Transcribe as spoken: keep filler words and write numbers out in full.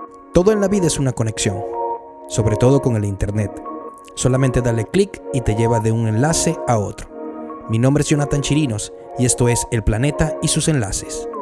Todo en la vida es una conexión, sobre todo con el internet. Solamente dale clic y te lleva de un enlace a otro. Mi nombre es Jonathan Chirinos y esto es El Planeta y sus enlaces.